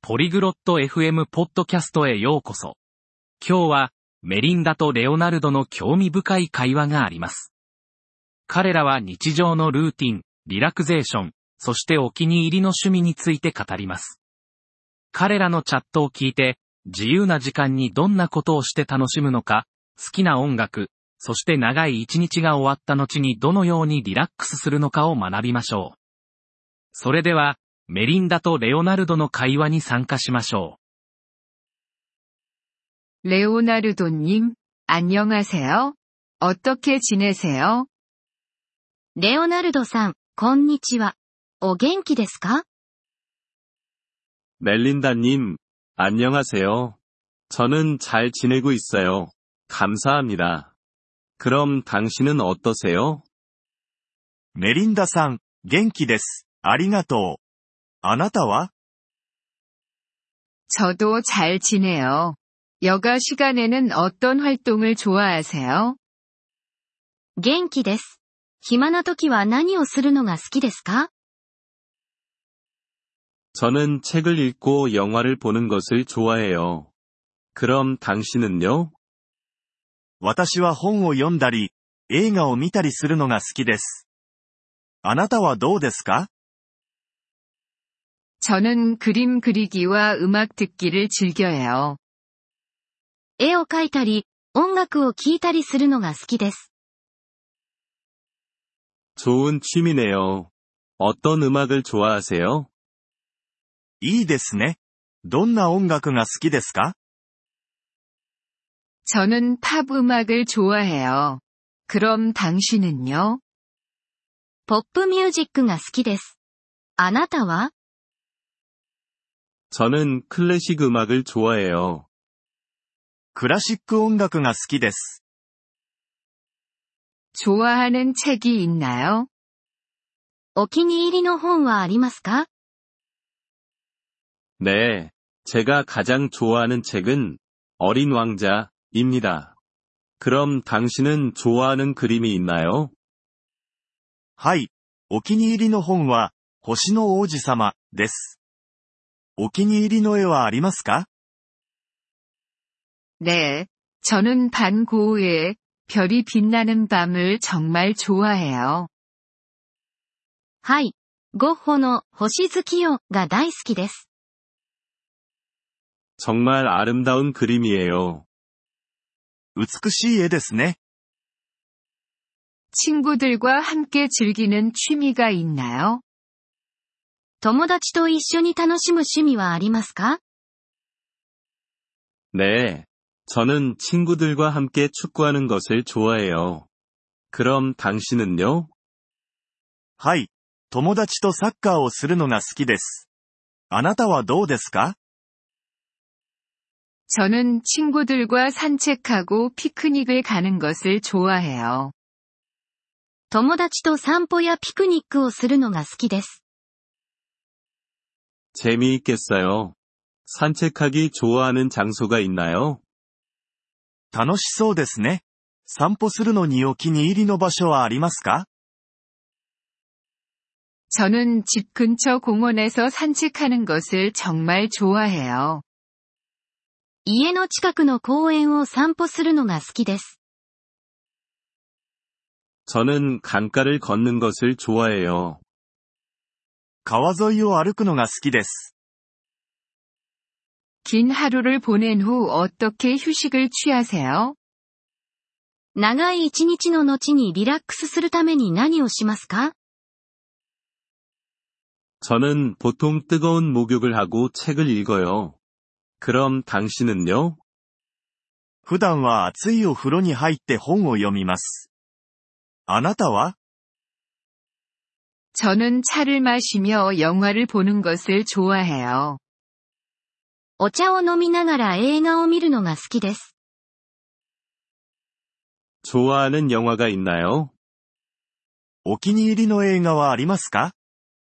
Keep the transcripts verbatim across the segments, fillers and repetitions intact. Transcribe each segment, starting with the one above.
ポリグロット エフエム ポッドキャストへようこそ。今日は、メリンダとレオナルドの興味深い会話があります。彼らは日常のルーティン、リラクゼーション、そしてお気に入りの趣味について語ります。彼らのチャットを聞いて、自由な時間にどんなことをして楽しむのか、好きな音楽、そして長い一日が終わった後にどのようにリラックスするのかを学びましょう。それでは、メリンダとレオナルドの会話に参加しましょう。レオナルド님、안녕하세요。어떻게 지내세요？ レオナルドさん、こんにちは。お元気ですか？ 멜린다님, 안녕하세요. 저는 잘 지내고 있어요. 감사합니다. 그럼 당신은 어떠세요? メリンダさん、元気です。ありがとう。あなたは？ 저도 잘 지내요. 여가 시간에는 어떤 활동을 좋아하세요? 元気です。暇な時は何をするのが好きですか？ 저는 책을 읽고 영화를 보는 것을 좋아해요. 그럼 당신은요? 私は本を読んだり、映画を見たりするのが好きです。あなたはどうですか？ 저는 그림 그리기와 음악 듣기를 즐겨해요. 絵を描いたり、音楽を聴いたりするのが好きです。 좋은 취미네요. 어떤 음악을 좋아하세요? いいですね。どんな音楽が好きですか？ 저는 팝 음악을 좋아해요. 그럼 당신은요? ポップミュージックが好きです。あなたは？ 저는 클래식 음악을 좋아해요. クラシック音楽が好きです。 좋아하는 책이 있나요? お気に入りの本はありますか？ 네, 제가 가장 좋아하는 책은 어린 왕자입니다. 그럼 당신은 좋아하는 그림이 있나요? はい、お気に入りの本は、星の王子様です。お気に入りの絵はありますか？ 네, 저는 반 고흐의 별이 빛나는 밤을 정말 좋아해요. はい、ゴッホの星月夜が大好きです。 정말 아름다운 그림이에요. 美しい絵ですね。 친구들과 함께 즐기는 취미가 있나요? 友達と一緒に楽しむ趣味はありますか？ 네, 저는 친구들과 함께 축구하는 것을 좋아해요. 그럼 당신은요? はい、友達とサッカーをするのが好きです。あなたはどうですか？ 저는 친구들과 산책하고 피크닉을 가는 것을 좋아해요. 友達と散歩やピクニックをするのが好きです。 재미있겠어요. 산책하기 좋아하는 장소가 있나요? 楽しそうですね。散歩するのにお気に入りの場所はありますか？ 저는 집 근처 공원에서 산책하는 것을 정말 좋아해요. 家の近くの公園を散歩するのが好きです。 저는 강가를 걷는 것을 좋아해요. 川沿いを歩くのが好きです。 긴 하루를 보낸 후 어떻게 휴식을 취하세요? 長い一日の後にリラックスするために何をしますか？ 저는 보통 뜨거운 목욕을 하고 책을 읽어요. 그럼 당신은요? 普段は熱いお風呂に入って本を読みます。あなたは？ 저는 차를 마시며 영화를 보는 것을 좋아해요. お茶を飲みながら映画を見るのが好きです。 좋아하는 영화가 있나요? お気に入りの映画はありますか？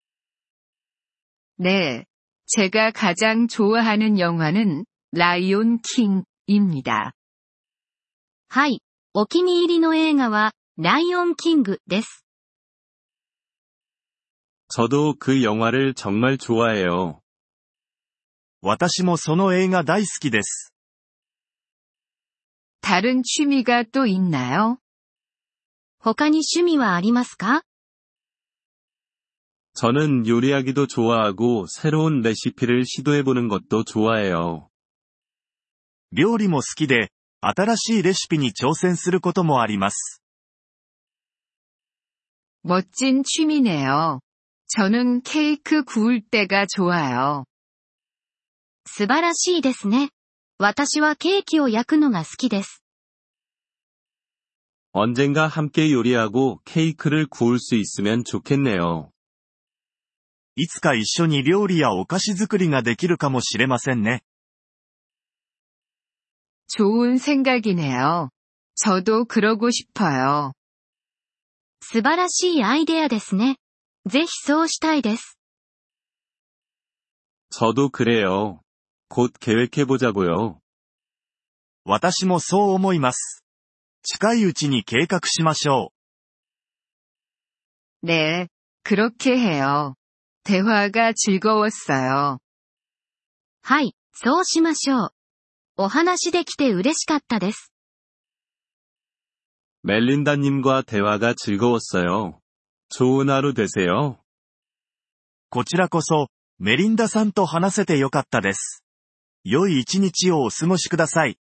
네, 제가 가장 좋아하는 영화는 라이온 킹입니다. はい、お気に入りの映画はライオンキングです。 저도 그 영화를 정말 좋아해요. 私もその映画大好きです。 다른 취미가 또 있나요? 他に趣味はありますか？ 저는 요리하기도 좋아하고 새로운 레시피를 시도해보는 것도 좋아해요. 料理も好きで、新しいレシピに挑戦することもあります。 멋진 취미네요. 저는 케이크 구울 때가 좋아요. 素晴らしいですね。私はケーキを焼くのが好きです。 언젠가 함께 요리하고 케이크를 구울 수 있으면 좋겠네요. いつか一緒に料理やお菓子作りができるかもしれませんね。 좋은 생각이네요. 저도 그러고 싶어요. 素晴らしいアイデアですね。ぜひそうしたいです。 저도 그래요. 곧 계획해보자고요. 私もそう思います。近いうちに計画しましょ 네, 그렇게 해요. 대화가 즐거웠어요. はい、そうしましょう。お話できて嬉しかったです。 멜린다님과 대화가 즐거웠어요. 좋은 하루 되세요. う。こちらこそ、メリンダさんと話せてよかったです。良い一日をお過ごしください。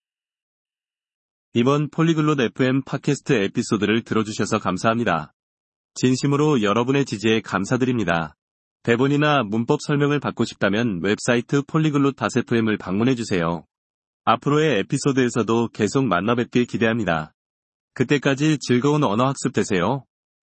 이번 폴리글롯 에프엠 팟캐스트 에피소드를 들어주셔서 감사합니다. 진심으로 여러분의 지지에 감사드립니다. 대본이나 문법 설명을 받고 싶다면 웹사이트 폴리글롯 에프엠을 방문해주세요. 앞으로의 에피소드에서도 계속 만나뵙길 기대합니다. 그때까지 즐거운 언어 학습 되세요.